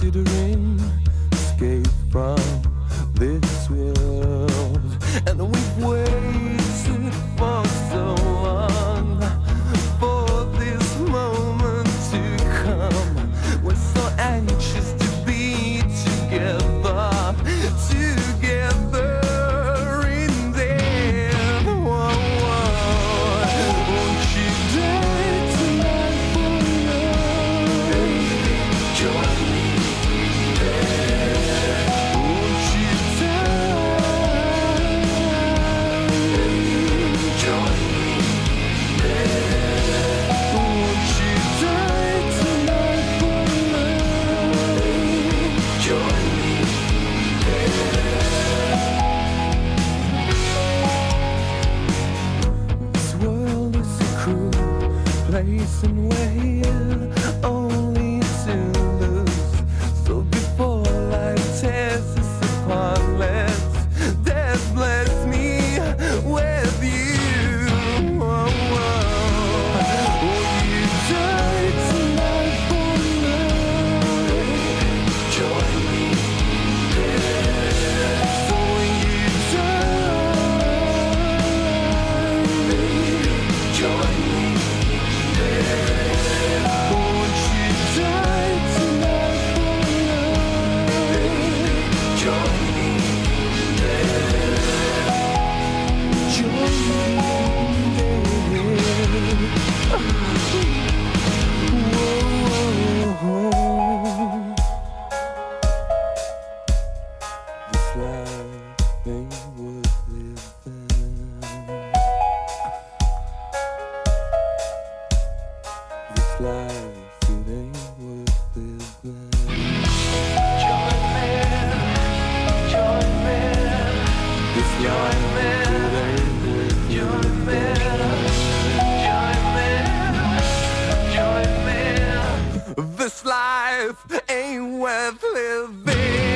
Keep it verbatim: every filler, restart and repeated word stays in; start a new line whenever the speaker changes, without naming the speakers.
considering escape from this world, and we've waited for so long for this moment to come. We're so anxious to be together, together in there. Whoa, whoa. Won't you die tonight for love? Join me there. Won't you die? Join me there. Won't you die tonight for love? Join me there. This world is a cruel place and we're only to lose. So before life tears us apart, let's death bless me with you. Whoa, whoa. Will you die tonight for love? Join me there. So will you die? Join me there. Won't you die tonight for love? Join me there. Join me there. Whoa. This life ain't worth living. This life, it ain't worth living. Join me, join me. This life, it ain't worth living. Join me, join me. This life ain't worth living.